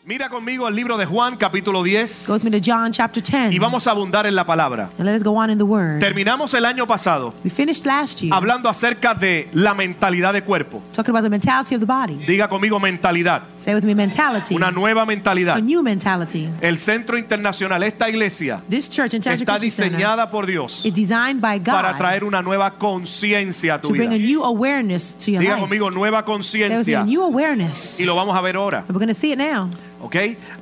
Mira conmigo el libro de Juan, capítulo 10. Go with me to John chapter 10. Y vamos a abundar en la palabra. And let us go on in the word. Terminamos el año pasado We finished last year hablando acerca de la mentalidad de cuerpo. talking about the mentality of the body. Diga conmigo mentalidad. Say with me, mentality. Una nueva A mentalidad. new mentality. El Centro Internacional, esta iglesia, This church, International está Christian Center, diseñada por Dios is designed by para God traer una nueva conciencia a tu to bring a vida. new awareness to your Diga life. conmigo nueva There was a conciencia. new awareness. Y lo vamos a ver ahora. And we're going to see it now. ¿Ok?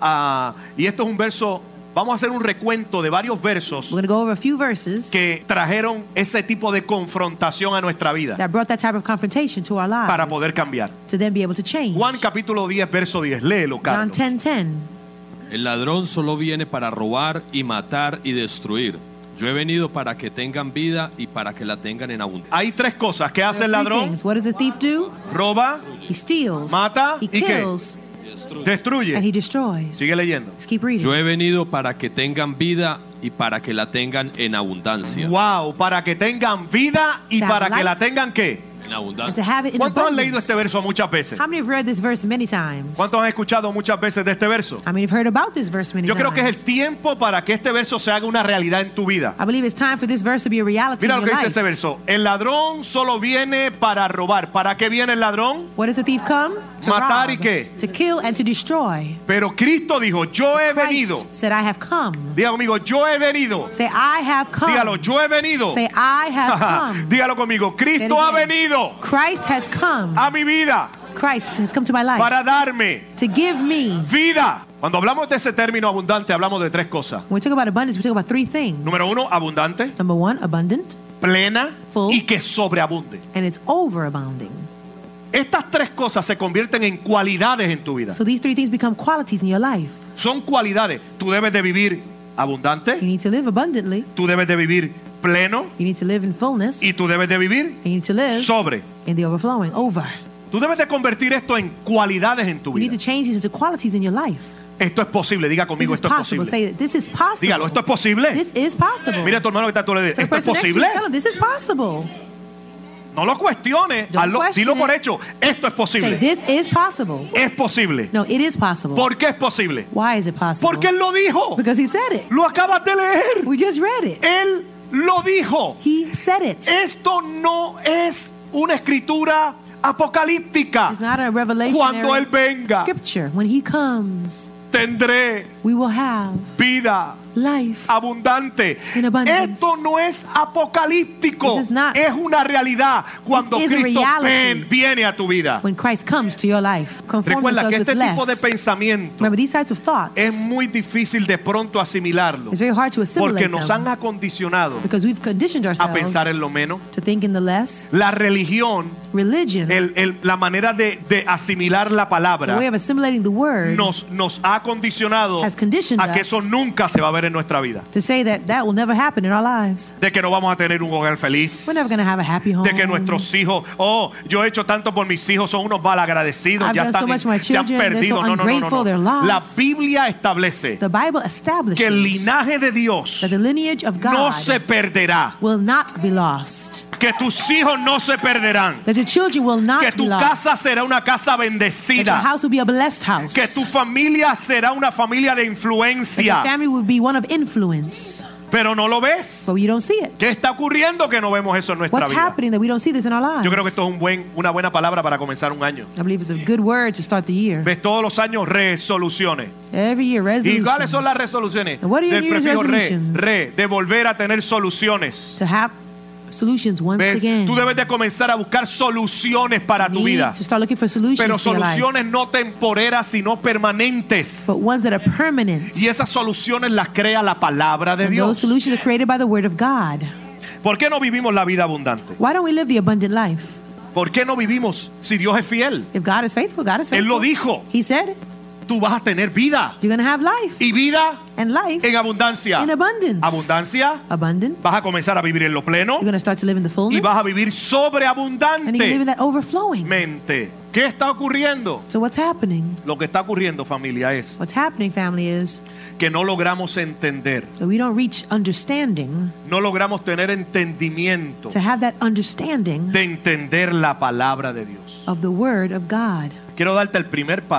Y esto es un verso. Vamos a hacer un recuento de varios versos We're going to go over a few verses que trajeron ese tipo de confrontación a nuestra vida that brought that type of confrontation to our lives para poder cambiar. to then be able to change. Juan capítulo 10, verso 10. Léelo, John Carlos. 10:10. El ladrón solo viene para robar y matar y destruir. Yo he venido para que tengan vida y para que la tengan en abundancia. Hay tres cosas. ¿Qué hace el There are three ladrón? things. What does a thief do? Roba, He steals. Mata, He ¿y qué? kills. And he destruye. destroys. Sigue leyendo. Let's keep reading. Yo he venido para que tengan vida y para que la tengan en abundancia. Wow, para que tengan vida y To have para que life. la tengan ¿qué? En And abundancia. to have it in ¿Cuántos han abundance. leído este verso muchas veces? How many have read this verse many times? ¿Cuántos han escuchado muchas veces de este verso? How many have heard about this verse many Yo creo times? que es el tiempo para que este verso se haga una realidad en tu vida. I believe it's time for this verse to be a reality Mira in lo que your dice life. ese verso. El ladrón solo viene para robar. ¿Para qué viene el ladrón? What does the thief come? To Matar rob, y qué? to kill and to destroy. Pero Cristo dijo, yo he venido. Christ said, I have come. Diga conmigo, yo he venido. Say, I have come. Dígalo, yo he venido. Say, I have come. Dígalo conmigo, Cristo ha again. venido Christ has come. a mi vida Christ has come to my life para darme to give me. vida. Cuando hablamos de ese término abundante, hablamos de tres cosas. When we talk about abundance, we talk about three things. Número uno, abundante, Number one, abundant, plena Full. y que sobreabunde. and it's overabounding. Estas tres cosas se convierten en cualidades en tu vida. So these three things become qualities in your life. Son cualidades. Tú debes de vivir abundante, You need to live abundantly. tú debes de vivir pleno You need to live in fullness. y tú debes de vivir You need to live sobre. in the overflowing, over. Tú debes de convertir esto en cualidades en tu You need vida. to change these into qualities in your life. Esto es posible. Diga This conmigo, is esto es possible. posible. Say, this is possible. Dígalo, esto es posible. This is possible. Mira a tu hermano que está a tu lado. Tell the ¿Esto es person next to you, posible? tell him, this is possible. No lo cuestiones. Don't Hazlo, question dilo por it. hecho. Esto es Say, posible. this is possible. Es posible. No, it is possible. ¿Por qué es posible? Why is it possible? Porque Él lo dijo. Because he said it. Lo acabas de leer. We just read it. Él lo dijo. He said it. Esto no es una escritura apocalíptica. It's not a revelation. Cuando Él venga, Scripture. When he comes, tendré we will have vida life. abundante. In abundance. Esto no es apocalíptico. This is not. Es una realidad cuando This is a Cristo reality. viene a tu vida. When Christ comes to your life, conform Recuerda que yourselves este with tipo de less. pensamiento Remember, these types of thoughts, es muy difícil de pronto asimilarlo it's very hard to porque assimilate nos them han acondicionado because we've conditioned a ourselves pensar en lo menos. to think in the less. La religión, Religion, la manera de asimilar la the palabra way of assimilating the word, nos ha condicionado has conditioned a que us eso nunca se va a ver en nuestra vida. to say that will never happen in our lives. De que no vamos a tener un hogar feliz. We're never going to have a happy home. De que nuestros hijos, yo he hecho tanto por mis hijos, son unos malagradecidos, I've ya done so están, much for my se han children, they're perdido. so No. ungrateful, they're lost. La Biblia establece The Bible establishes que el linaje de Dios that the lineage of God no se perderá. will not be lost. Que tus hijos no se perderán. That the children will not Que be tu lost. casa será una casa That your bendecida. house will be a blessed house. Que tu familia será una familia de That your influencia. family will be one of influence. Pero no lo ves. But you don't see it. ¿Qué está ocurriendo que no vemos eso en nuestra What's vida? happening that we don't see this in our lives? Yo creo que esto es una buena palabra para comenzar un año. I believe it's a good word to start the year. Ves todos los años resoluciones. Every year, ¿Y resolutions. cuáles son las resoluciones? And what are your Del New Year's prefijo resolutions? de volver a tener soluciones. To have solutions once ¿Ves? again. Tú debes de comenzar a buscar soluciones para tu You need vida. to start looking for solutions Pero to your life. soluciones no temporeras, sino permanentes. But ones that are permanent. Y esas soluciones las crea la palabra de And those Dios. solutions are created by the word of God. ¿Por qué no vivimos la vida abundante? Why don't we live the abundant life? ¿Por qué no vivimos si Dios es fiel? If God is faithful, God is Él faithful. lo dijo. He said it. Tú vas a tener vida. You're going to have life. Y vida And life en abundancia. in abundance. Abundancia. Abundant. Vas a comenzar a vivir en lo pleno. You're going to start to live in the fullness. Y vas a vivir And you're going to live in sobreabundante. that overflowing. Mente. ¿Qué está ocurriendo? So what's happening? Lo que está ocurriendo, familia, es What's happening, family, is que no logramos entender, that we don't reach understanding, no logramos tener entendimiento to have that understanding de entender la palabra de Dios. of the word of God. Quiero darte el primer paso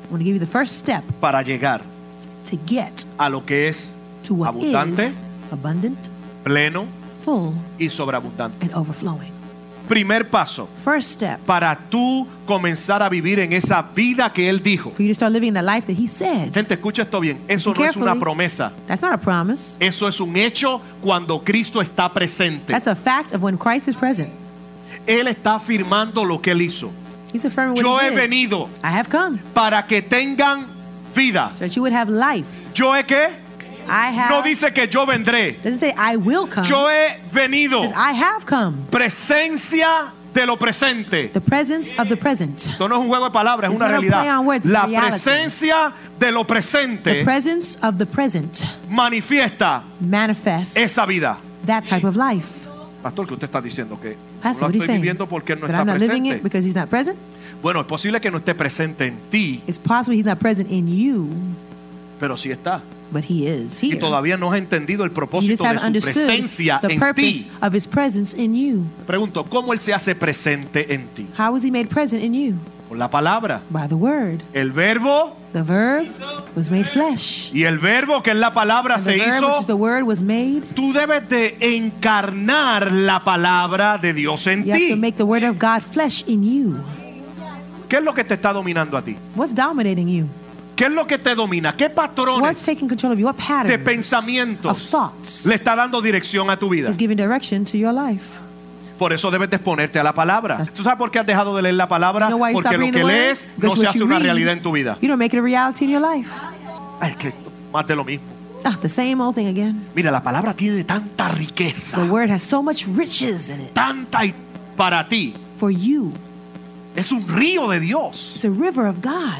I want to give you the first step para llegar to get a lo que es to what abundante, is abundant, pleno full, y sobreabundante. and overflowing. Primer paso First step para tú comenzar a vivir en esa vida que Él dijo. for you to start living the life that He said. Gente, escucha esto bien. Eso Listen no es una carefully. promesa. That's not a promise. Eso es un hecho cuando Cristo está presente. That's a fact of when Christ is present. Él está afirmando lo que Él hizo. He's affirming Yo what he He did. venido I have come para que tengan vida. so that you would have life. ¿Yo he qué? I have. No dice que yo vendré. Doesn't say I will come. Yo he venido. It says I have come. Presencia de lo presente. The presence of the present. Esto no es un juego de palabras, es It's una not a play realidad. on words, it's La reality. presencia de lo The presente presence of the present manifiesta manifests esa vida. that type of life. Pastor, ¿qué usted está diciendo? Que Pastor, no what la are you estoy saying? viviendo porque Él no That está I'm not living it presente. because He's not present? Bueno, es posible que no esté presente en ti, It's possible He's not present in you, pero sí está. but He is Y here. todavía no has entendido el You propósito just de haven't su understood presencia the en purpose ti. of His presence in you. Pregunto, ¿cómo Él se hace presente en ti? How was He made present in you? Con la palabra. By the Word. El verbo The Verb was made flesh. y el verbo que es la palabra And the se Verb, which hizo. is the Word, was made. Tú debes de encarnar la palabra de Dios en You have to ti. make the Word of God flesh in you. ¿Qué es lo que te está dominando a ti? What's dominating you? ¿Qué es lo que te domina? ¿Qué What's patrones taking control of you? What de patterns of pensamientos thoughts le está dando dirección a tu vida? is giving direction to your life? Por eso debes de exponerte a la palabra. ¿Tú sabes por qué has dejado de leer la palabra? You know why you Porque stop lo reading que the Word? lees no Because se what hace you una read, realidad en tu vida. you don't make it a reality in your life. Ay, es que más de lo mismo. The same old thing again. Mira, la palabra tiene tanta riqueza, The Word has so much riches in it tanta y para ti. for you. Es un río de Dios, It's a river of God,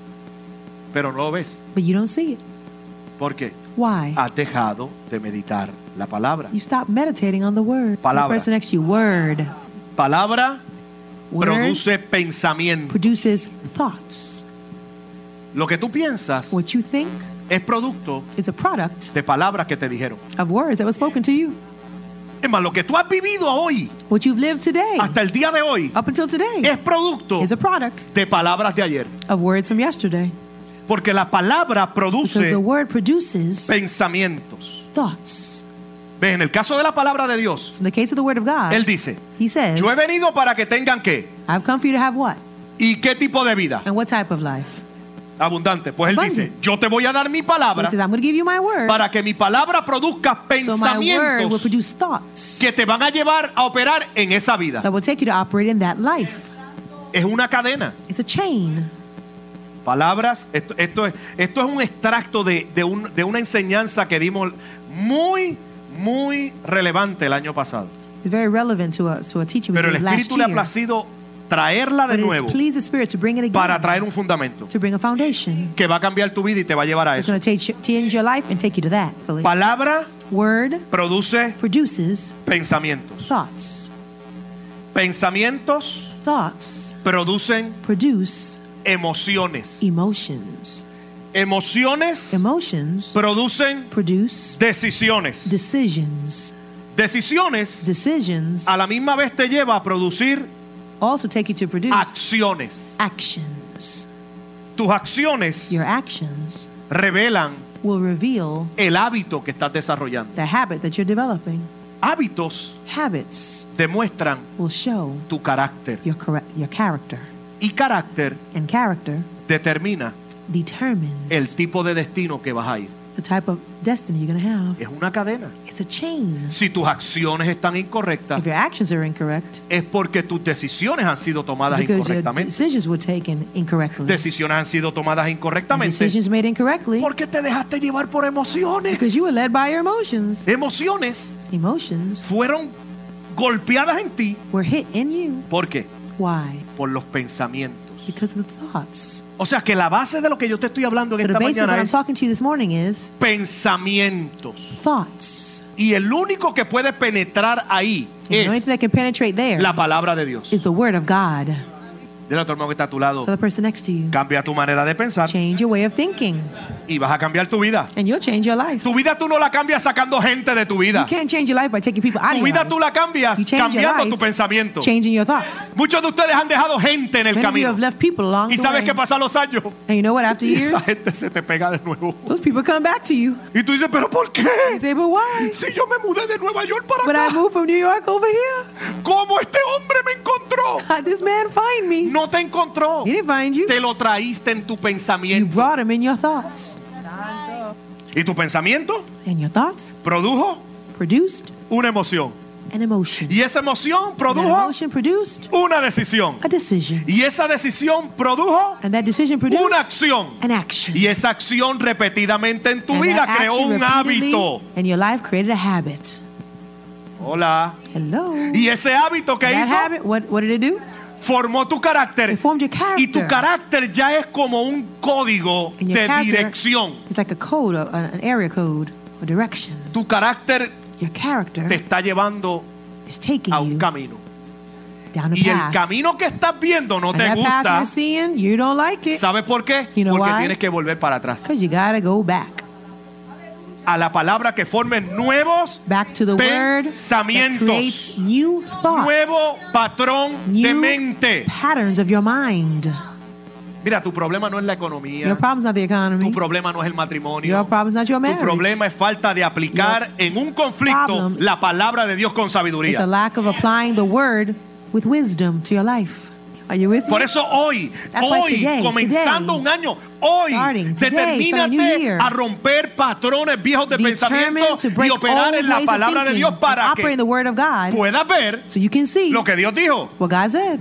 pero no lo ves. but you don't see it. ¿Por qué? Why? Has dejado de meditar la palabra. You stop meditating on the Word. Palabra. The person next to you, Word. Palabra Word produce pensamiento. produces thoughts. Lo que tú piensas What you think es producto is a product de palabras que te dijeron. of words that were spoken to you. Es más, lo que tú has vivido hoy, What you've lived today, hasta el día de hoy, up until today, es producto is a product de palabras de ayer. of words from yesterday. Porque la palabra Because produce the Word produces pensamientos. thoughts. ¿Ves? En el caso de la palabra de Dios, In the case of the Word of God, Él dice, He says, yo he venido para que tengan ¿qué? I've come for you to have what? ¿Y qué tipo de vida? And what type of life? Abundante. Pues Él Abundant. dice, yo te voy a dar mi So palabra He says, I'm going to give you my Word, para que mi palabra produzca so my Word will pensamientos produce thoughts que te van a llevar a operar en esa vida. that will take you to operate in that life. Es una cadena. It's a chain. Palabras, esto es un extracto de una enseñanza que dimos muy relevante el año pasado. It's very relevant to a teaching we Pero el did last Espíritu le ha year. placido traerla de But nuevo it's pleased the Spirit to bring it again, para traer un fundamento to bring a foundation. que va a cambiar tu vida y te va a llevar a It's eso. going to change your life and take you to that. Fully. Palabra Word produce produces pensamientos. thoughts. Pensamientos Thoughts producen produce emociones. emotions. Emociones Emotions producen produce decisiones. decisions. Decisiones Decisions a la misma vez te lleva a producir also take you to produce acciones. actions. Tus acciones Your actions revelan will reveal el hábito que estás desarrollando. the habit that you're developing. Hábitos Habits demuestran will show tu carácter your character. y carácter And character determina determines el tipo de destino que vas a ir. the type of destiny you're going to have. Es una cadena. It's a chain. Si tus acciones están incorrectas, If your actions are incorrect, es porque tus decisiones han sido tomadas because your incorrectamente. decisions were taken incorrectly. Decisiones han sido tomadas And incorrectamente decisions made incorrectly porque te dejaste llevar por emociones. because you were led by your emotions. Emociones Emotions fueron golpeadas en ti. were hit in you. ¿Por qué? Why? Por los pensamientos. Because of the thoughts. O sea que la base de lo que yo te estoy hablando en So the esta basis of what mañana I'm es talking to you this morning is pensamientos. thoughts. Y el único que puede penetrar ahí And the only es thing that can penetrate there la palabra de Dios. is the Word of God. Dile a tu hermano que está a tu lado, So the person next to you, cambia tu manera de pensar change your way of thinking. y vas a cambiar tu vida. And you'll change your life. Tu vida tú no la cambias sacando gente de tu You vida. can't change your life by taking people out of Tu your vida life. tú la cambias You change your cambiando life, tu pensamiento. changing your thoughts. Muchos de ustedes han dejado gente en el Many of you camino. have left people along Y the sabes way. que pasan los años And you know what? After y esa years, gente se te pega de nuevo. those people come back to you. Y tú dices, ¿pero por qué? You say, but why? Si yo me mudé de Nueva York para But I acá, moved from New York over here. ¿cómo este hombre me encontró? How'd this man find me? No te encontró. He didn't find you. Te lo traíste en tu You pensamiento. brought him in your thoughts. Y tu pensamiento And your thoughts produjo produced una emoción. an emotion. Y esa emoción That produjo emotion produced una decisión. a decision. Y esa decisión produjo And that decision produced una acción. an action. Y esa acción repetidamente en tu And vida that creó action un repeatedly hábito. in your life created a habit. Hola. Hello. Y ese hábito que That hizo habit, what did it do? formó tu carácter. It formed your character. Y tu carácter ya es como un código And your de character dirección. It's like a code, an area code, a direction. Tu carácter Your character te está llevando is taking a un you camino. down a Y el path. camino que estás viendo no And te that path gusta. you're seeing, you don't like it ¿Sabes por qué? You know Porque why? tienes que volver para atrás. because you gotta go back. A la palabra que formen nuevos Back to the word that pensamientos. creates new thoughts, Nuevo patrón de new mente. patterns of your mind. Mira, tu problema no es la economía. Your problem's not the economy. Tu problema no es el matrimonio. Your problem's not your Tu marriage. problema es falta de aplicar en un conflicto problem la palabra de Dios con It's a sabiduría. lack of applying the word with wisdom to your life. Are you with Por me? eso hoy, That's why today, comenzando un año, hoy, starting today, determínate starting a new year, a romper patrones viejos de Determined pensamiento to y break operar old en la ways of palabra de thinking Dios and para operate in the que word of God puedas ver so you can see lo que Dios dijo. what God said.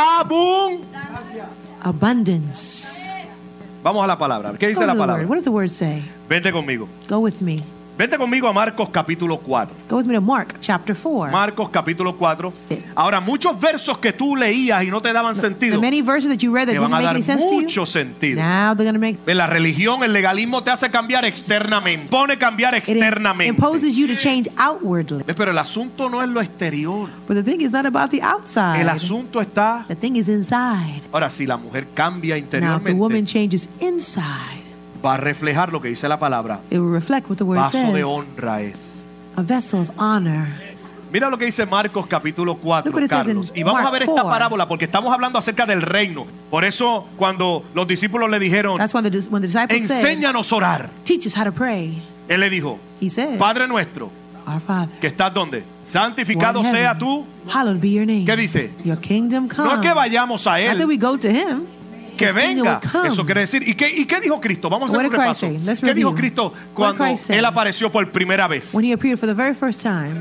Abundance. Vamos a la palabra. ¿Qué Let's dice go la to the word. palabra? What does the word say? Vente conmigo. Go with me. Vente conmigo a Marcos capítulo 4. Go with me to Mark chapter 4. Marcos capítulo 4. Sí. Ahora, muchos versos que tú leías y no te daban The sentido, many verses that you read that te didn't van a make dar any sense to you, mucho sentido. now they're going to make En la religión, el legalismo te hace cambiar externamente. Pone cambiar it externamente. imposes you to change outwardly. Pero el asunto no es lo exterior. But the thing is not about the outside. El asunto está. The thing is inside. Ahora, si la mujer cambia Now, if the woman interiormente, changes inside, va a reflejar lo que dice la palabra. it will reflect what the word Vaso de says. honra es. A vessel of honor. Mira lo que dice Marcos capítulo 4, Look what it says in Carlos. Y vamos a Mark ver esta 4. parábola porque estamos hablando acerca del reino. Por eso cuando los discípulos le dijeron, That's when the disciples said, enséñanos a orar, teach us how to pray. él le dijo, He said, Padre nuestro, Our Father, que estás donde, who santificado art in sea heaven, tú. hallowed be your name. ¿Qué dice? Your kingdom come. No es que vayamos a Not that él, we go to him. que His kingdom venga. will come. Eso quiere decir. ¿Y qué dijo Cristo? Vamos a What hacer un did Christ repaso. say? Let's ¿Qué dijo review. Cristo What did cuando Christ say? él apareció por primera vez? When he appeared for the very first time,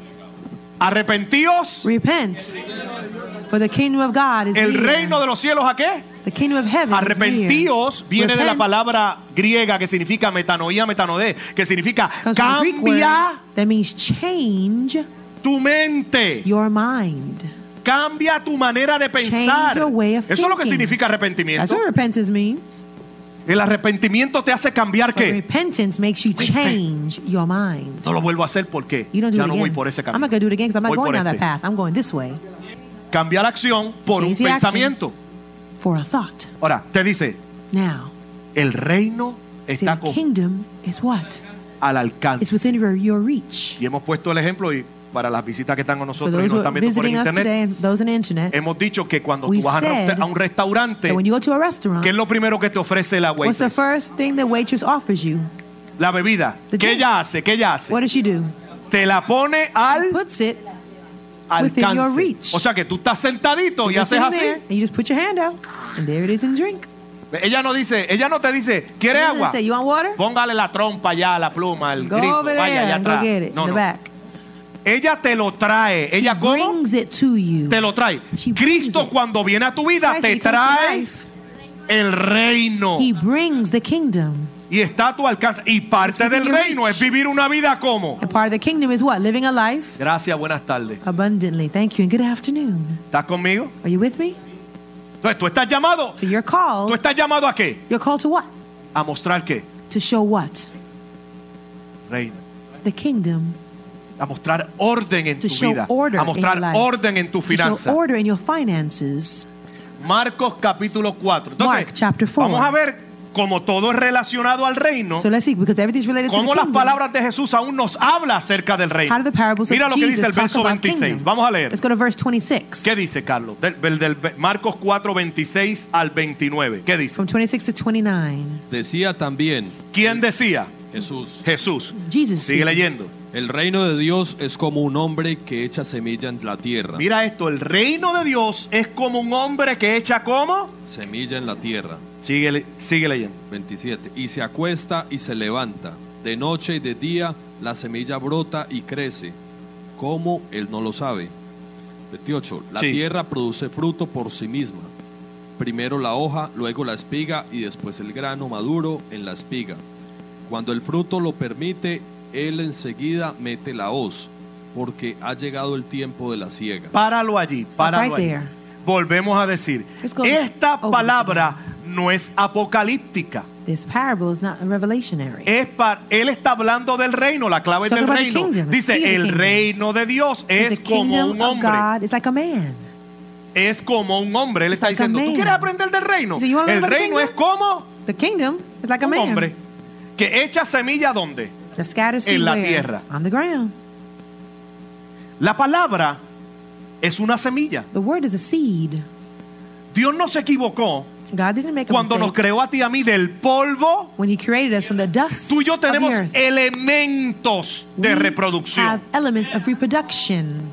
Arrepentíos. repent, for the kingdom of God is El near. reino de los cielos, ¿a qué? The kingdom of heaven is Arrepentíos near. viene de la Repent palabra griega que significa metanoía, metanodé, que significa comes from the Greek word cambia that means change tu mente, your mind. cambia tu manera de pensar. Change your way of Eso es lo que thinking. significa That's arrepentimiento. what repentance means. El arrepentimiento te hace cambiar But qué. repentance makes you change your mind. No lo vuelvo a hacer porque You don't do ya it no again. voy por ese I'm camino. not going to do it again because I'm not Voy going por down that este. path. I'm going this way Cambia la acción por un Change the action. pensamiento. for a thought. Ahora, te dice, Now, el reino see, está the kingdom is what? al It's alcance. within your reach. Y hemos puesto el ejemplo y para las visitas que están con For nosotros y those nos who están are viendo por el visiting us internet, today and those on the internet, hemos dicho que cuando We tú vas said a un restaurante, that when you go to a restaurant, ¿qué es lo primero que te ofrece la what's the waitress? first thing the waitress offers you? La bebida. The ¿Qué drink. ella hace? ¿Qué ella hace? What does she do? Te la pone al Puts it within your alcance. reach. O sea que tú estás sentadito y you're haces sitting así. there, and you just put your hand out, and there it is in drink. Ella no te dice, ¿quiere It doesn't agua? say, you want water? Póngale la trompa allá, la pluma, el Go grifo, over vaya there allá and go atrás. get it No, in the no. back. Ella te lo trae. ¿Ella cómo? Brings it to you. Te lo trae. She brings Cristo it. cuando viene a tu vida Christ, te when he comes to trae life, el reino. He brings the kingdom. Y está a tu alcance. Y parte It's del within your reino reach. es vivir una vida como. And part of the kingdom is what? Living a life Gracias, buenas tardes. abundantly. Thank you and good afternoon. ¿Estás conmigo? Are you with me? Entonces, tú estás llamado. So you're ¿Tú called. estás llamado a qué? You're called to what? A mostrar qué? To show what? Reino. The kingdom. A mostrar orden en To tu show vida. order A in mostrar your life. orden en tu To show finanza. order in your finances. Marcos capítulo 4. Entonces, Mark chapter 4. vamos a ver como todo es relacionado al reino, So let's see, because everything's related to the cómo las kingdom. palabras de Jesús aún nos habla acerca del reino. How do the parables Mira of lo que Jesus dice el talk verso about 26. kingdom? Vamos a leer. Let's go to verse 26. ¿Qué dice, Carlos? Del Marcos 4, 26 al 29. ¿Qué dice? From 26 to 29. Decía también ¿Quién decía? Jesús: Jesús. Jesus Sigue speaking. leyendo. el reino de Dios es como un hombre que echa semilla en la tierra. Mira esto, el reino de Dios es como un hombre que echa ¿cómo? Semilla en la tierra. Sigue leyendo. 27. Y se acuesta y se levanta. De noche y de día la semilla brota y crece. ¿Cómo? Él no lo sabe. 28. La Sí. tierra produce fruto por sí misma. Primero la hoja, luego la espiga y después el grano maduro en la espiga. Cuando el fruto lo permite, él enseguida mete la hoz, porque ha llegado el tiempo de la siega. Páralo allí, páralo right allí. there. Volvemos a decir, Let's go esta over palabra no es apocalíptica. This parable is not revelationary. Él está hablando del reino, la clave es Talking del about the reino. kingdom, the Dice, key of the el kingdom. reino de Dios es the como kingdom un of hombre. God is like a man. Es como un hombre. Él It's está like a diciendo, ¿tú man. quieres aprender del reino? So you wanna El learn about the reino es kingdom? como The kingdom is like a un man. hombre que echa semilla ¿dónde? The scattered seed En la where? tierra. On the ground. La palabra es una semilla. The word is a seed. Dios no se equivocó God didn't make a cuando nos mistake. creó a ti y a mí del polvo. When he created us from the dust Tú y yo of the tenemos earth. elementos de We reproducción. have elements of reproduction.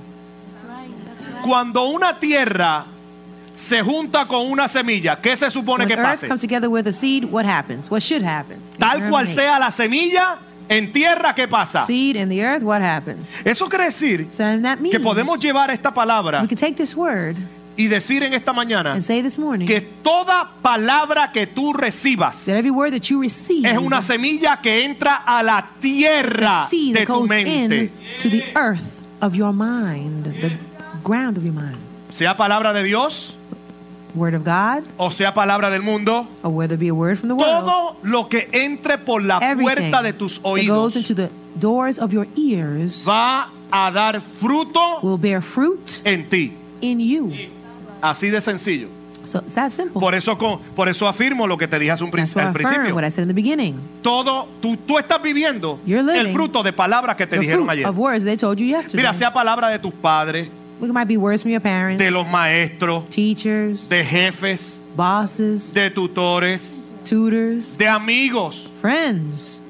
Cuando una tierra se junta con una semilla, ¿qué se supone When que earth pase? comes together with a seed, what happens? What should happen? It Tal cual germinates. sea la semilla, en tierra, ¿qué pasa? Seed in the earth, what happens? Eso quiere decir So that means que podemos llevar esta palabra we can take this word y decir en esta mañana and say this morning que toda palabra que tú recibas that every word that you receive es una semilla que entra a la is tierra a seed de that tu goes mente. in to the earth of your mind, the ground of your mind. Sea palabra de Dios Word of God, o sea palabra del mundo, or whether it be a word from the world, todo lo que entre por la everything puerta de tus that goes oídos into the doors of your ears va a dar fruto will bear fruit en ti. in you. Así de sencillo. So it's that simple. Por eso afirmo lo que te dije hace un That's why I al affirm principio. what I said in the beginning. Todo, tú estás viviendo You're living el fruto de palabras que te The dijeron fruit ayer. of words they told you yesterday. Mira, sea palabra de tus padres, It might be words from your parents, de los maestros, teachers, de jefes, bosses, de tutores, tutors, de amigos. friends.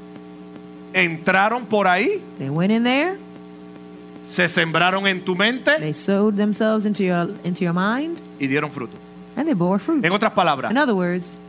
Entraron por ahí, They went in there. se sembraron en tu mente They sowed themselves into your mind, y dieron fruto. and they bore fruit. En otras palabras, In other words,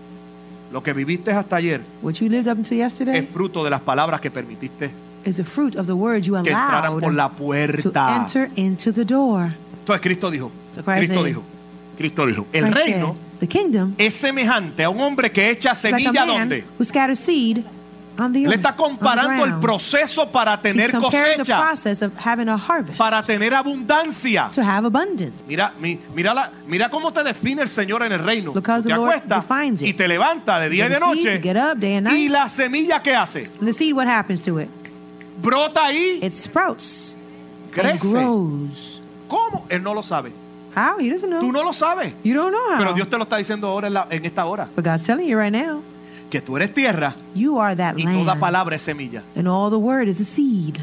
lo que viviste hasta ayer what you lived up until yesterday es fruto de las palabras que permitiste is the fruit of the words you que entraran por la allowed to puerta. enter into the door. Entonces Cristo dijo, So Christ Cristo dijo, el Christ reino said, the kingdom es semejante a un hombre que echa is like a semilla man donde who scatters seed on the le earth. está on the comparando el ground. proceso para He's tener comparing the cosecha, process of having a harvest para tener abundancia. to have abundance. Mira cómo te define el Señor en el reino. Look how Te the Lord acuestas defines it. y te levanta de día y de You see, you noche. get up day and night. Y la semilla que hace, And the seed, what happens to it? brota ahí, It sprouts and crece. grows. ¿Cómo? Él no lo sabe. How? He doesn't know. Tú no lo sabes. You don't know how. Pero Dios te lo está diciendo ahora en esta hora. But God's telling you right now, Que tú eres tierra you are that y toda land. palabra es semilla. And all the word is a seed.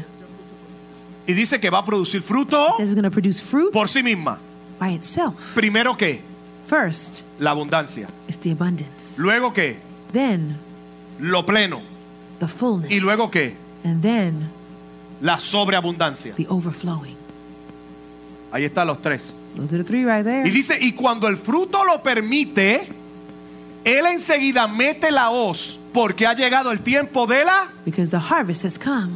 Y dice que va a producir fruto It says it's going to produce fruit por sí misma. by itself. Primero que First, la abundancia. it's the abundance. Luego que Then, lo pleno. the fullness. Y luego que And then, la sobreabundancia. the overflowing. Ahí están los tres. Those are the three right there. Y dice, y cuando el fruto lo permite, él enseguida mete la hoz porque ha llegado el tiempo de la... Because the harvest has come.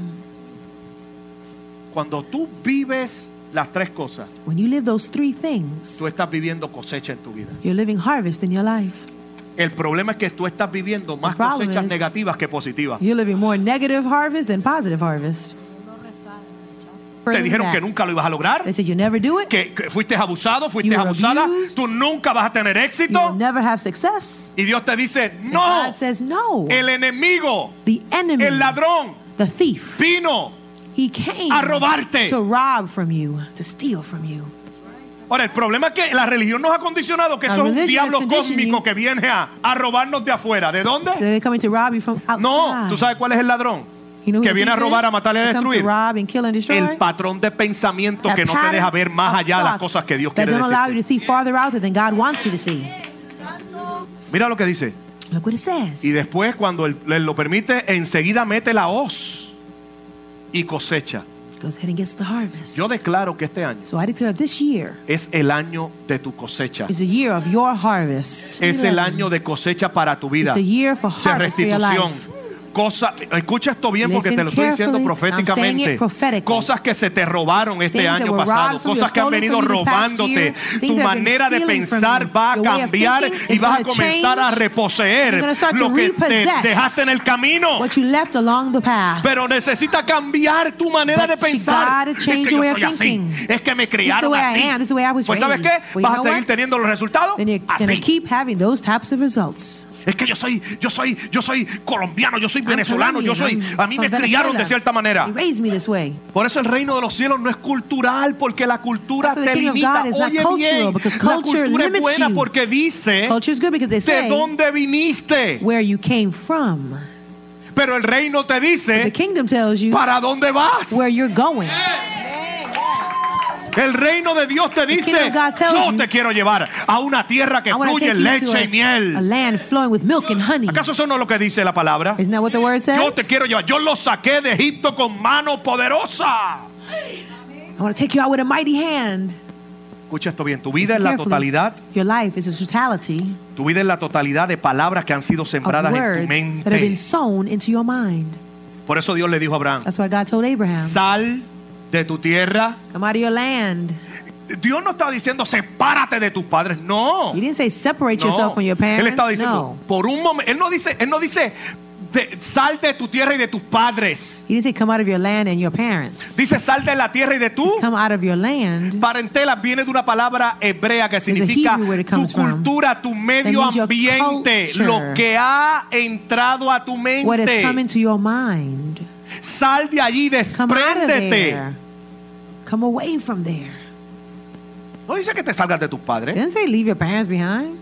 Cuando tú vives las tres cosas, When you live those three things, tú estás viviendo cosecha en tu vida. you're living harvest in your life. El problema es que tú estás viviendo más The problem cosechas is- negativas que positivas. You're living more negative harvest than positive harvest. Te dijeron que nunca lo ibas a lograr, They said you never do it. que fuiste abusado, fuiste You were abusada, abused. tú nunca vas a tener You'll éxito. never have success. Y Dios te dice, And no, God says no. el enemigo, The enemy, el ladrón, the thief, vino he came a robarte. to rob from you, to steal from you. Ahora, el problema es que la religión nos ha condicionado que Our eso es un religion diablo has conditioned cósmico you. que viene a robarnos de afuera. ¿De dónde? They're coming to rob you from outside. No, ¿tú sabes cuál es el ladrón? You know who Que the viene a thief robar, is? a matar y a They come to destruir. rob and kill and destroy. El patrón de pensamiento That que no te deja ver más pattern allá de of las thoughts cosas que Dios that quiere don't allow you to decirte. see farther out there than God wants you to see. Mira lo que dice. Look what it says. Y después, cuando él lo permite, enseguida mete la hoz y cosecha. Goes ahead and gets the harvest. Yo declaro que este año So I declare this year es el año de tu cosecha. is the year of your harvest. Es el año de cosecha para tu vida. It's the year for De harvest for your restitución. life. Escucha esto bien porque Listen te lo estoy diciendo carefully. I'm saying proféticamente. it prophetically. Cosas que se te robaron este Things that año were pasado. robbed from you, Cosas que han stolen venido from you this past robándote. year. Tu Things that have been manera de stealing from pensar you. va a Your way of cambiar thinking y is vas a gonna comenzar a change. reposeer You're gonna start lo to que te repossess dejaste en el camino. what you left along the path. Pero necesita cambiar tu manera de But you pensar. gotta Es change que your yo way of soy así. thinking. Es que me This is the criaron way así. I am. This is the way I was Pues ¿sabes raised. qué? Well, you Vas know a seguir what? teniendo los resultados Then you're going to así. keep having those types of results. Es que yo soy colombiano, yo soy I'm venezolano, Colombian, a mí I'm me from criaron Venezuela. de cierta manera. They raised me this way. Por eso el reino de los cielos no es cultural, porque la cultura So the te kingdom of limita. God is not Oye cultural, bien, because la culture cultura es limits buena you. porque dice Culture is good because they de say dónde viniste. where you came from. Pero el reino te The dice kingdom tells you para dónde vas. where you're going. El reino de Dios te dice, kingdom of God tells yo you, te quiero llevar a una tierra que I want to fluye take you leche y to a miel. land flowing with milk and honey. ¿Acaso eso no es lo que dice la palabra? Isn't that what the word says? Yo te quiero llevar. Yo los saqué de Egipto con mano poderosa. I want to take you out with a mighty hand. Escucha esto bien. Tu vida Listen es la carefully. totalidad. Your life is a totality Tu vida es la totalidad de palabras que han sido of sembradas en tu words that have been mente. sown into your mind. Por eso Dios le dijo a Abraham, That's why God told Abraham, sal de tu tierra. come out of your land. Dios no estaba diciendo sepárate de tus padres. No. He didn't say separate No. yourself from your parents. Él estaba diciendo, No. por un momento, él no dice sal de tu tierra y de tus padres. He didn't say come out of your land and your parents. Dice sal de la tierra y de tu Come out of your land. parentela. Viene de una palabra hebrea que significa Hebrew word it tu comes from. cultura, tu medio means your ambiente, culture. lo que ha entrado a tu What has come mente. into your mind. Sal de allí, Come out of despréndete. there. Come away from there. No dice que te salgas de tus It padres. didn't say leave your parents behind.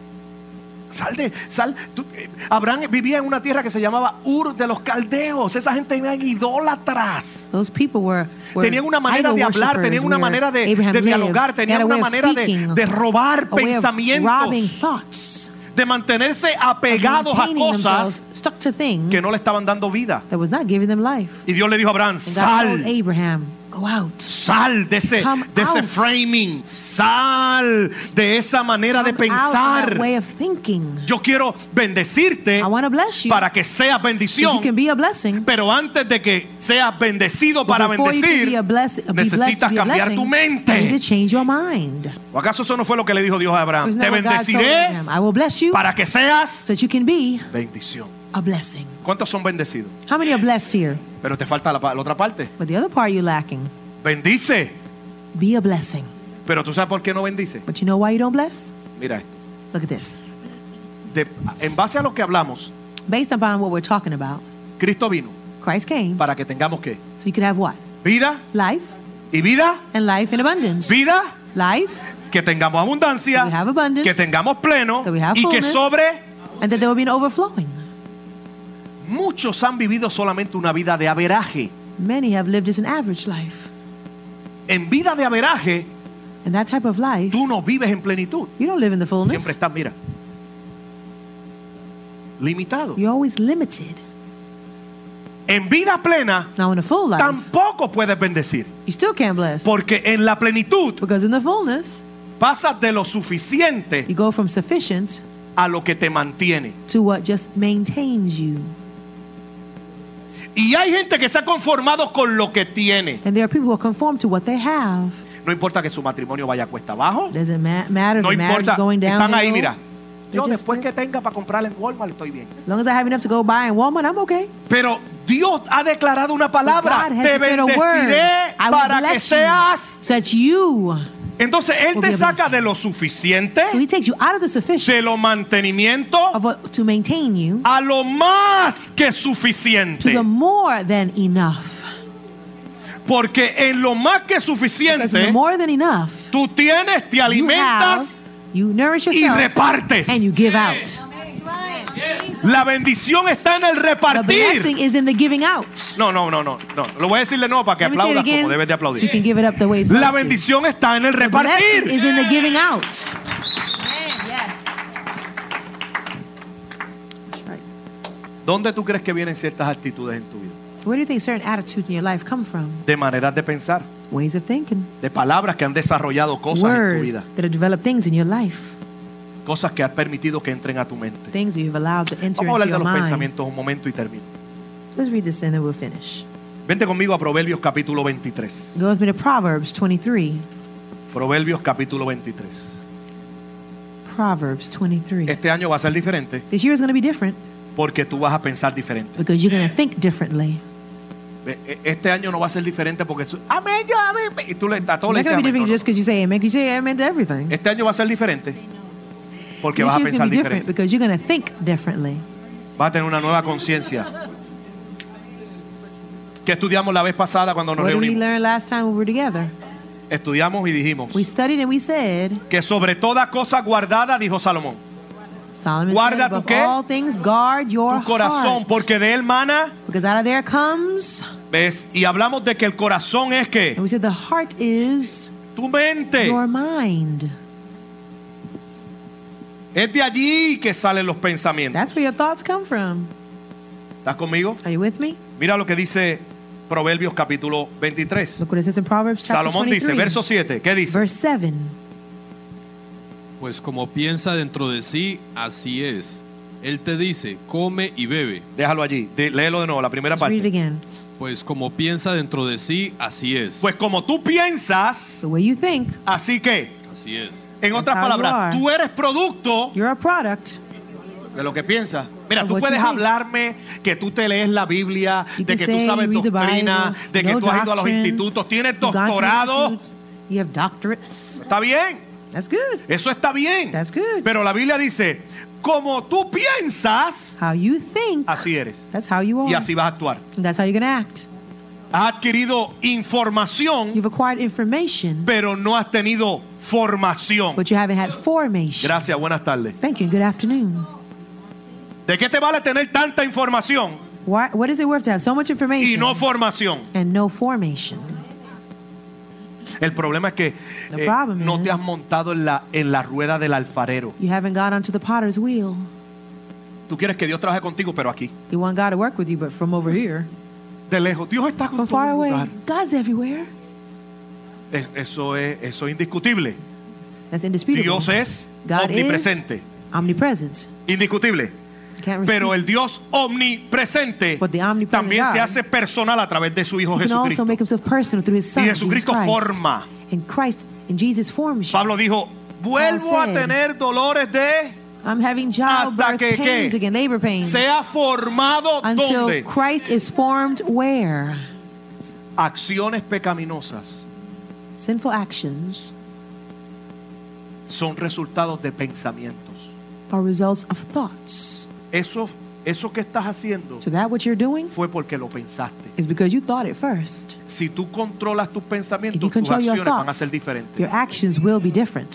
Abraham vivía en una tierra que se llamaba Ur de los Caldeos. Esa gente eran idólatras. Those people were Tenían una manera de hablar, tenían una manera de dialogar, tenían una manera de robar robbing pensamientos, thoughts, de mantenerse apegados a maintaining cosas themselves, stuck to things que no le estaban dando vida. that was not giving them life. Y Dios le dijo a Abraham, And God told sal. Abraham, go out. Sal de ese Come out. framing, sal de esa manera de Come out of that pensar. way of thinking. Yo quiero bendecirte I want to bless you para que seas so you bendición, can be a blessing. pero antes de que seas bendecido para Before you can bendecir, be blessed to necesitas be a cambiar tu blessing, you need mente. to change your mind. ¿O acaso eso no fue lo que le dijo Dios a Abraham? Isn't Te that what God told bendeciré Abraham? I will bless you para que seas so that you can be bendición. a blessing. ¿Cuántos son bendecidos? How many are blessed here? Pero te falta la otra parte. But the other part you're lacking. Bendice. Be a blessing. Pero tú sabes por qué no bendice. But you know why you don't bless? Mira esto. Look at this. En base a lo que hablamos, Based upon what we're talking about, Cristo vino Christ came para que tengamos ¿qué? so you could have what? Vida Life y vida, and life in abundance. vida, Life, que tengamos abundancia, that we have abundance, que tengamos pleno that we have y que fullness, sobre. and that there will be an overflowing. Muchos han vivido solamente una vida de averaje. Many have lived just an average life. En vida de averaje, And that type of life, tú no vives en plenitud. you don't live in the fullness. Siempre estás, mira, limitado. You're always limited. En vida plena, Now in a full life, tampoco puedes bendecir. you still can't bless. Porque en la plenitud Because in the fullness, pasas de lo suficiente you go from sufficient a lo que te mantiene. to what just maintains you. Y hay gente que se ha conformado con lo que tiene. And there are people who conform to what they have. No importa que su matrimonio vaya cuesta abajo. Doesn't matter if No the marriage importa. is going down. Están ahí, mira. Yo They're just después there. que tenga para comprar en Walmart estoy bien. As long as I have enough to go buy in Walmart, I'm okay. Pero Dios ha declarado una palabra. God has Te declared a word. bendeciré I will para que bless you seas. so that you. Entonces Él will te be a saca blessing. de lo suficiente, So he takes you out of the sufficient de lo mantenimiento, of what, to maintain you a lo más que to suficiente. the more than enough. Porque en lo más que Because in the suficiente more than enough, Tú tienes, te You alimentas you nourish y yourself repartes. and you give out. La bendición está en el The repartir. blessing is in the giving out. No. Lo voy a decir de nuevo para que Let me say it aplaudas again, como debes de so you aplaudir. can give it up the way it's La supposed to. bendición está en el The blessing repartir. is in the giving out. That's right. ¿Dónde tú crees que vienen ciertas actitudes en tu vida? Where do you think certain attitudes in your life come from? De maneras de pensar, Ways of thinking. de palabras que han desarrollado cosas en tu Words vida, that have developed things in your life. cosas que has permitido que entren a tu mente. Things that you've allowed to enter Vamos a into hablar de your los mind. pensamientos un momento y termino. Let's read this and then we'll finish. Vente conmigo a Proverbios capítulo 23. Go with me to Proverbs 23. Proverbios capítulo 23. Proverbs 23. Este año va a ser diferente This year is going to be different porque tú vas a pensar diferente. because you're going to think differently. Este año no va a ser diferente porque amén, yo amén. Y tú a todos It's le not dices going to be amén. different No, just because you say amen. You say amen to everything. no. Este año va a ser diferente porque This vas a year is pensar going to be different diferente. because you're going to think differently. Vas a tener una nueva conciencia. ¿Qué estudiamos la vez pasada cuando nos What did we reunimos? learn last time we were together? Estudiamos y dijimos We studied and we said, que sobre toda cosa guardada, dijo Salomón, Solomon Guarda said, tu above qué? all things, guard your tu corazón, heart. porque de él mana, Because out of there comes, ¿ves? Y hablamos de que el corazón es and que we said the heart is tu mente. your mind. Es de allí que salen los pensamientos. That's where your thoughts come from. ¿Estás conmigo? Are you with me? Mira lo que dice Proverbios capítulo 23. Look what it says in Proverbs chapter Salomón 23. dice, verso 7, ¿qué dice? Verse 7. Pues como piensa dentro de sí, así es. Él te dice, come y bebe. Déjalo allí, léelo de nuevo, la primera Let's read it parte. again. Pues como piensa dentro de sí, así es. Pues como tú piensas, The way you think, así que, Así es. en otras how you palabras, are. tú eres producto you're a product. de lo que piensas. Mira, Of tú what puedes you think. hablarme que tú te lees la Biblia, You de can que tú say sabes you read the doctrina, Bible, de que know tú has ido a los doctrine, institutos, tienes you've gone to doctorado. institutes, you have doctorates. Está bien, That's good. eso está bien. That's good. Pero la Biblia dice, como tú piensas, How you think, así eres. that's how you are. Y así vas a actuar. And that's how you're going to act. Has adquirido información, You've acquired information, pero no has tenido formación. but you haven't had formation. Gracias, buenas tardes. Thank you. Good afternoon. ¿De qué te vale tener tanta información What is it worth to have so much y information no formación? and no formation? El problema es que The problem no te is- has montado en la rueda del alfarero. You haven't got onto the potter's wheel. Tú quieres que Dios trabaje contigo, pero aquí, You want God to work with you, but from over here, de lejos. Dios está con from todo far el away, lugar. God's everywhere. Eso es indiscutible. That's indisputable. Dios es God omnipresente, is omnipresent. indiscutible. Can't Pero refute. el Dios omnipresente But the omnipresent también se God hace personal a través de su Hijo He can also Jesucristo. make himself personal through his son, Y Jesus Jesucristo Christ. forma. And Christ and Jesus forms you. Pablo dijo, vuelvo a said, tener dolores de I'm having hasta childbirth que pains ¿qué? again, labor pains. sea formado Until donde Christ is formed where? acciones pecaminosas Sinful actions son resultados de pensamientos. are results of thoughts. Eso que estás haciendo So that what you're doing fue porque lo pensaste. is because you thought it first. Si tú controlas tus If you pensamientos, tus control your acciones van a thoughts, ser diferentes. your actions will be different.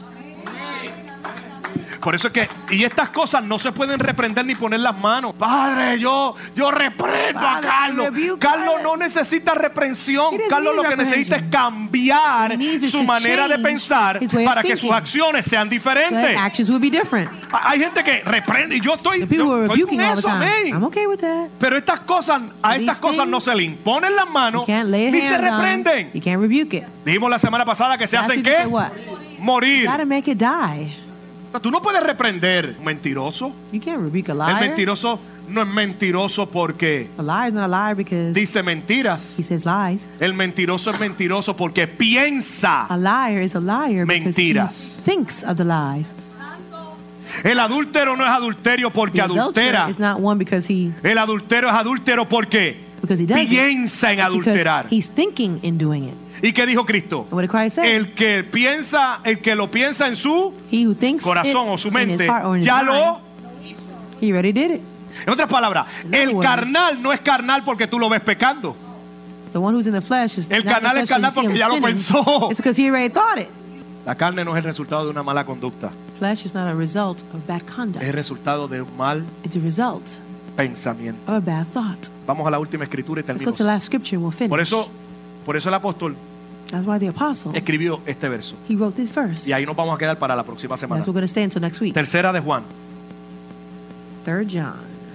Por eso es que, y estas cosas no se pueden reprender ni poner las manos. Padre, yo reprendo a Father, Carlos. I rebuke Carlos no Carlos. necesita reprensión. He doesn't Carlos lo need que necesita es reprehension. cambiar He needs su to manera de change pensar his way of para que sus thinking. acciones sean So his diferentes. actions will be different. Hay gente que reprende y yo estoy, The people who are estoy con rebuking all the eso, time. amén. I'm okay with that. Pero estas cosas, a These estas cosas no things, se le imponen las You manos can't lay ni se hands on. reprenden. You can't rebuke it. Dijimos la semana pasada que se Last hacen week you qué? said what? Morir. You gotta make it die. Tú no puedes reprender un mentiroso. You can't rebuke a El liar. mentiroso no es mentiroso porque A liar is not a liar because dice mentiras. he says lies. El mentiroso es mentiroso porque piensa. A liar is a liar because Mentiras. he thinks of the lies. El adúltero no es adulterio porque The adulterer adultera. is not one because he El adultero es adúltero porque does it. piensa en It's adulterar. because he's thinking in doing it. ¿Y qué dijo Cristo? And what did Christ say? El que lo piensa en su He who thinks corazón it o su in mente, his heart or in his ya mind, lo... he already did it. En otras palabras, In other el words, carnal no es carnal porque tú lo ves pecando. The one who's in the flesh is El not in the carnal es flesh carnal because you porque see ya him lo sinning. pensó. It's because he already thought it. La carne no es el resultado de una mala conducta. Flesh is not a result of bad Es el conduct. resultado de un mal It's a result pensamiento. of a bad thought. Vamos a la última escritura y Let's go to the terminamos. last scripture and we'll finish. Por eso el apóstol That's why the apostle, escribió este verso. he wrote this verse. Y ahí nos vamos a quedar para la próxima semana. That's what we're going to stay until next week. Tercera de Juan. 3 John.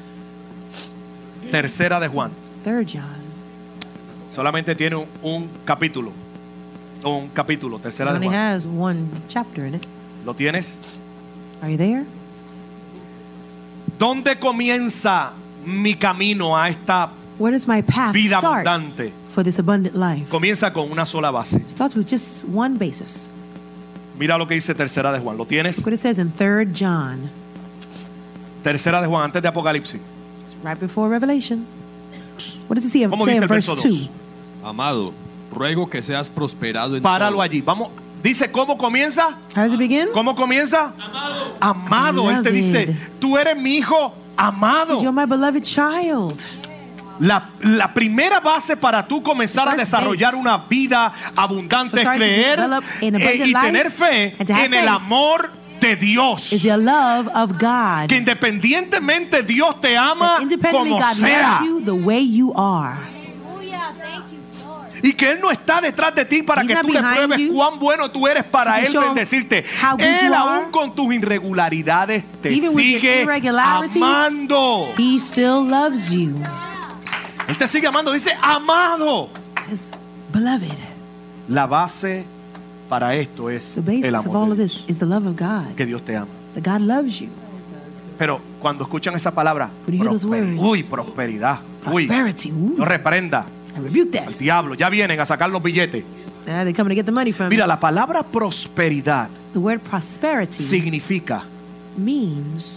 Tercera de Juan. 3 John. Solamente tiene un capítulo. Un capítulo. It Tercera de only Juan. has one chapter in it. ¿Lo tienes? Are you there? ¿Dónde comienza mi camino a esta Where does my path vida start abundante? for this abundant life? Comienza con una sola base. Starts with just one basis. Mira lo que dice Tercera de Juan. ¿Lo tienes? Look what it says in 3 John. Tercera de Juan, antes de Apocalipsis. It's right before Revelation. What does it say, ¿Cómo say dice in el verse verso 2? 2? Amado, ruego que seas prosperado en Páralo todo. allí. Vamos. Dice, ¿cómo comienza? How does it begin? ¿Cómo comienza? Amado. Él te dice, Beloved. tú eres mi hijo amado. You're my beloved child. La primera base para tú comenzar a The first desarrollar base una vida abundante es for starting to creer develop an abundant y life tener fe and to have en el faith amor de Dios. Is the love of God. Que independientemente Dios te ama That independently como God sea. loves you the way you are. Hallelujah. Thank you, Lord. Y que Él no está detrás de ti para He's que not tú le behind pruebes you cuán bueno tú eres para to Él show bendecirte. how good Él you aún are. con tus irregularidades te Even with your sigue irregularities, amando. He still loves you. Él te sigue amando. Dice amado. It says, beloved. La base para esto es The basis el of all amor of de this Dios. is the love of God. Que Dios te ama. That God loves you. Pero cuando escuchan esa palabra, When you hear those words, uy, prosperidad, uy, Prosperity. Ooh, no reprenda I rebuke that. al diablo, ya vienen a sacar los billetes. They're coming to get the money from Mira, you. la palabra prosperidad The word prosperity significa means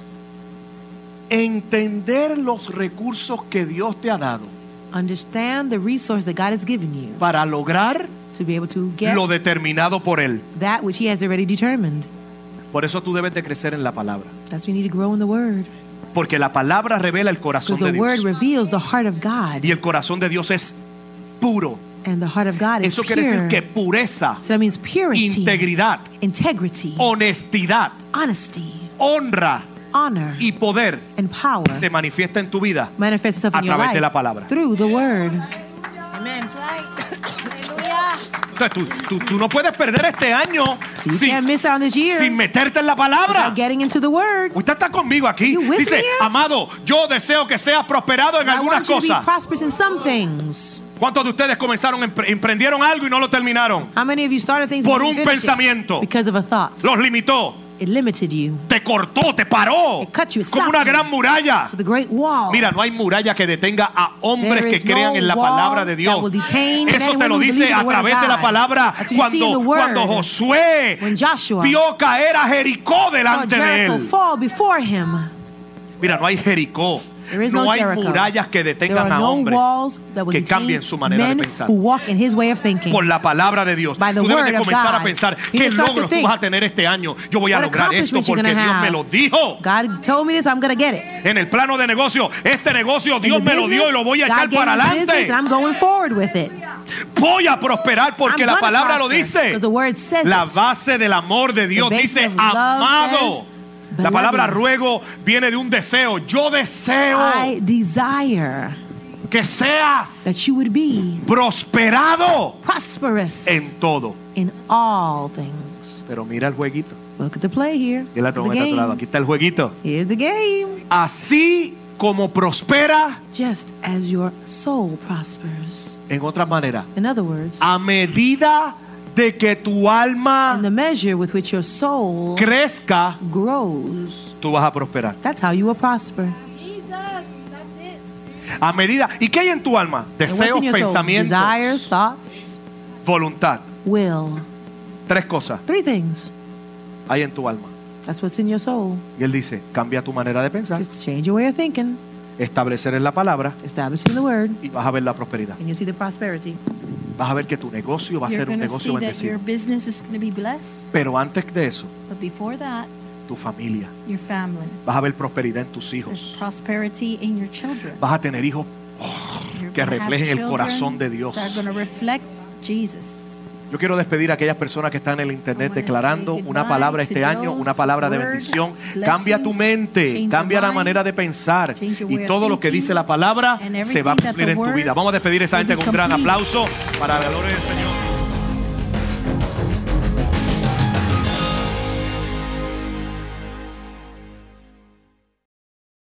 entender los recursos que Dios te ha dado understand the resource that God has given you para lograr to be able to get lo determinado por Él. that which He has already determined. Por eso tú debes de crecer en la palabra. That's why you need to grow in the Word. Porque la palabra revela el corazón Because de the Word Dios. reveals the heart of God. Y el corazón de Dios es puro. And the heart of God is Eso quiere pure. decir que pureza, So that means purity, integridad, integrity, honestidad, honesty, honra honor, y poder and power se manifiesta en tu vida manifests itself a in your través de la life palabra. through the Word. Amen. That's right. Hallelujah. Entonces, tú no puedes perder este año So you can't miss out on this year sin meterte en la palabra. without getting into the Word. Usted está conmigo aquí. You with Dice, me here? amado, yo deseo que seas prosperado en I algunas want you to be cosas. prosperous in some things. ¿Cuántos de ustedes comenzaron, emprendieron algo y no lo terminaron? How many of you started things Por and un didn't finish it? pensamiento. Because of a thought? Los limitó, It limited you. te cortó, te paró. It cut you, it Como stopped una you. gran muralla. The great wall. Mira, no hay muralla que detenga a hombres There que is crean no en la wall palabra de Dios. that will detain Eso men te and lo women who dice believe in a the word of través de la God. palabra That's what you see in the word. cuando Josué When Joshua vio caer a Jericó saw delante de Jericho él. fall before him. Mira, no hay Jericó. There is No no hay Jericho. murallas que There detengan are a no hombres walls that will que detain cambien su manera de men pensar. who walk in his way of thinking. Por la palabra de Dios. By the Tú debes de word of comenzar a God. pensar You qué just start to logros tú think, vas a tener este año. Yo voy a what lograr esto accomplishments you're porque gonna Dios me have. lo dijo. God told me this, I'm going to get it. En el plano de negocio, este negocio In Dios the me lo dio y lo voy a business, echar God para gave me this business adelante. and I'm going forward with it. Voy a prosperar porque I'm la gonna palabra lo prosper, dice. because the word says La it. base del amor de Dios The basis dice of love amado. says, La palabra beloved. ruego viene de un deseo. Yo deseo I desire que seas that you would be prosperado prosperous en todo. in all things. Pero mira el jueguito. Look at the play here. Y la Look at the trompeta a tu lado. game. Aquí está el jueguito. Here's the game. Así como prospera, Just as your soul prospers. en otra manera, In other words, a medida de que tu alma in the measure with which your soul crezca, grows, tú vas a prosperar. that's how you will prosper. Jesus. That's it. A medida. ¿Y qué hay en tu alma? And what's Deseos, in your soul? pensamientos, Desires, thoughts, voluntad. will. 3 cosas 3 things. hay en tu alma. That's what's in your soul. Y él dice, cambia tu manera de pensar, Just change your way of thinking, establecer en la palabra establishing the word, y vas a ver la prosperidad. and you'll see the prosperity. Vas a ver que tu negocio va a You're ser un going to negocio see that your bendecido. business is going to be blessed. Pero antes de eso, But before that, tu familia. your family. Vas a ver prosperidad en tus There's hijos. prosperity in your children. Vas a tener hijos You're que gonna have reflejen el children corazón de Dios. that are going to reflect Jesus. Yo quiero despedir a aquellas personas que están en el internet declarando una palabra este año, una palabra de bendición. Cambia tu mente, cambia la manera de pensar y todo lo que dice la palabra se va a cumplir en tu vida. Vamos a despedir a esa gente con un gran aplauso para la gloria del Señor.